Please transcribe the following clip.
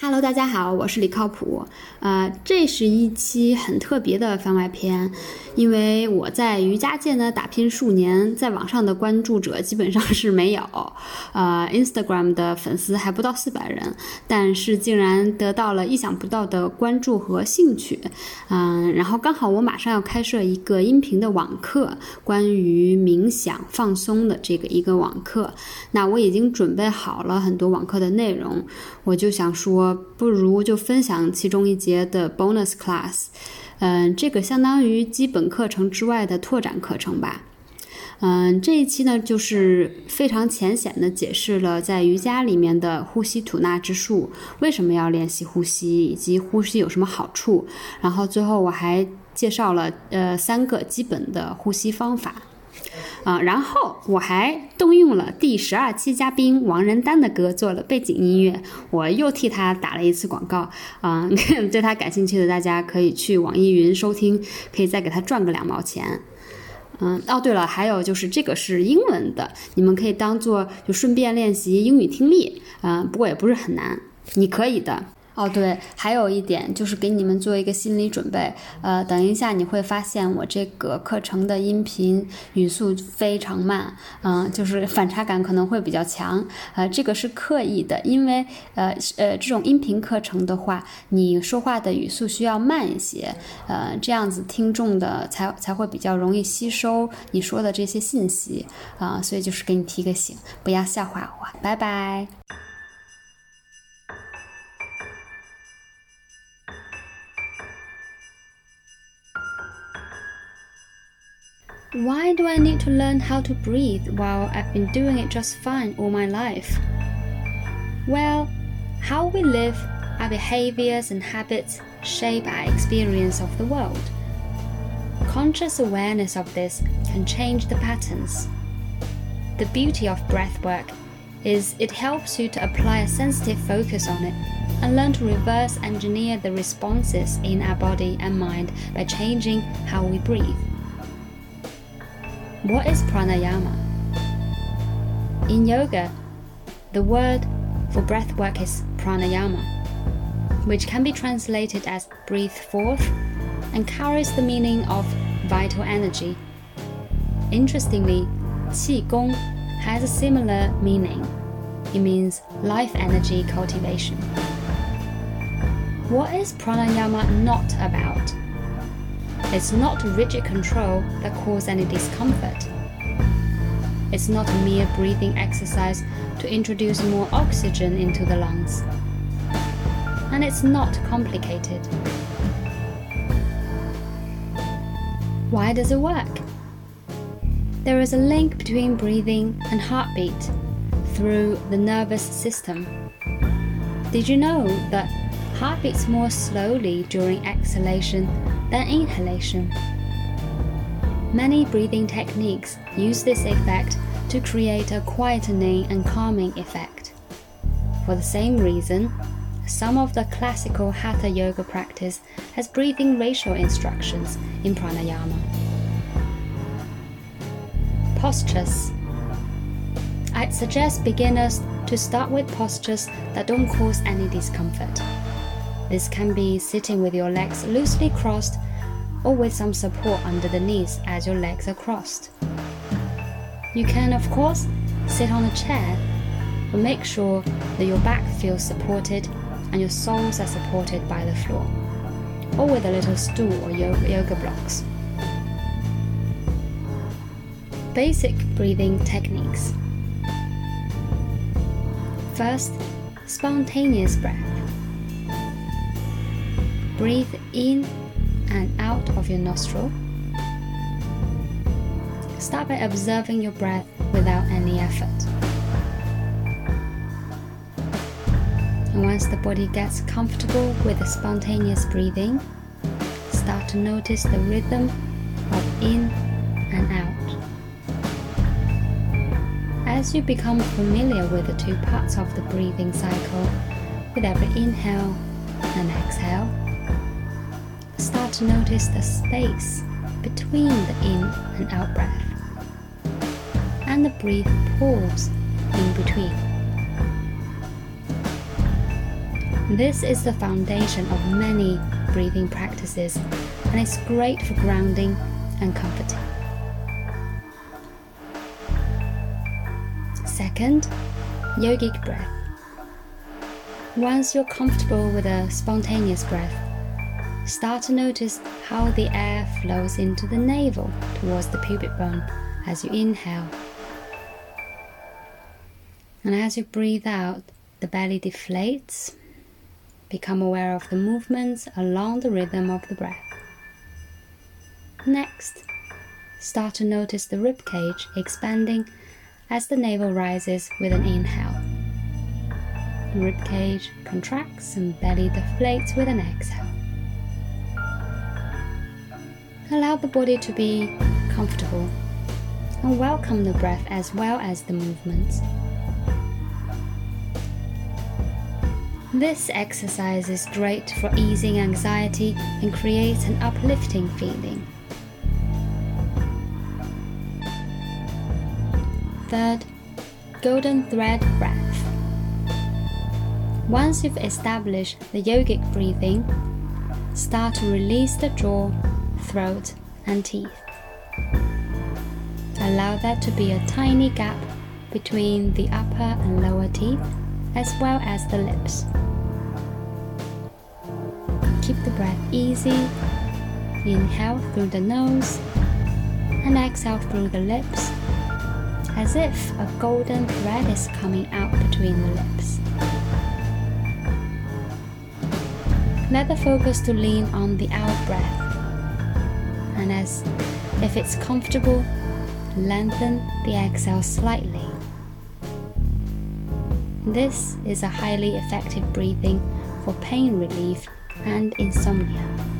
Hello， 大家好，我是李靠谱。这是一期很特别的番外篇，因为我在瑜伽界呢打拼数年，在网上的关注者基本上是没有，Instagram 的粉丝还不到400人，但是竟然得到了意想不到的关注和兴趣。然后刚好我马上要开设一个音频的网课，关于冥想放松的这个一个网课。那我已经准备好了很多网课的内容，我就想说，不如就分享其中一节的 bonus class， 这个相当于基本课程之外的拓展课程吧。这一期呢，就是非常浅显的解释了在瑜伽里面的呼吸吐纳之术，为什么要练习呼吸，以及呼吸有什么好处。然后最后我还介绍了3个基本的呼吸方法。然后我还动用了第12期嘉宾王仁丹的歌做了背景音乐，我又替他打了一次广告。对他感兴趣的大家可以去网易云收听，可以再给他赚个2毛钱。对了，还有就是这个是英文的，你们可以当做就顺便练习英语听力，不过也不是很难，你可以的。对，还有一点就是给你们做一个心理准备，等一下你会发现我这个课程的音频语速非常慢，就是反差感可能会比较强，这个是刻意的，因为这种音频课程的话，你说话的语速需要慢一些，这样子听众的才会比较容易吸收你说的这些信息，所以就是给你提个醒，不要笑话我，拜拜。Why do I need to learn how to breathe while I've been doing it just fine all my life? Well, how we live, our behaviors and habits shape our experience of the world. Conscious awareness of this can change the patterns. The beauty of breathwork is it helps you to apply a sensitive focus on it and learn to reverse engineer the responses in our body and mind by changing how we breathe. What is pranayama? In yoga, the word for breathwork is pranayama, which can be translated as breathe forth and carries the meaning of vital energy. Interestingly, qigong has a similar meaning. It means life energy cultivation. What is pranayama not about? It's not rigid control that causes any discomfort. It's not a mere breathing exercise to introduce more oxygen into the lungs. And it's not complicated. Why does it work? There is a link between breathing and heartbeat through the nervous system. Did you know that heart beats more slowly during exhalation than inhalation? Many breathing techniques use this effect to create a quietening and calming effect. For the same reason, some of the classical Hatha yoga practice has breathing ratio instructions in pranayama. Postures. I'd suggest beginners to start with postures that don't cause any discomfort. This can be sitting with your legs loosely crossed or with some support under the knees as your legs are crossed. You can, of course, sit on a chair, but make sure that your back feels supported and your soles are supported by the floor, or with a little stool or yoga blocks. Basic breathing techniques. First, spontaneous breath. Breathe in and out of your nostril. Start by observing your breath without any effort. And once the body gets comfortable with the spontaneous breathing, start to notice the rhythm of in and out. As you become familiar with the 2 parts of the breathing cycle, with every inhale and exhale, start to notice the space between the in and out breath, and the breath pause in between. This is the foundation of many breathing practices, and it's great for grounding and comforting. Second, yogic breath. Once you're comfortable with a spontaneous breath, start to notice how the air flows into the navel towards the pubic bone as you inhale. And as you breathe out, the belly deflates. Become aware of the movements along the rhythm of the breath. Next, start to notice the ribcage expanding as the navel rises with an inhale. The ribcage contracts and belly deflates with an exhale. Allow the body to be comfortable and welcome the breath as well as the movements. This exercise is great for easing anxiety and creates an uplifting feeling. Third, golden thread breath. Once you've established the yogic breathing, start to release the jaw, throat, and teeth. Allow there to be a tiny gap between the upper and lower teeth, as well as the lips. Keep the breath easy. Inhale through the nose and exhale through the lips, as if a golden thread is coming out between the lips. Let the focus to lean on the out breath, and as if it's comfortable, lengthen the exhale slightly. This is a highly effective breathing for pain relief and insomnia.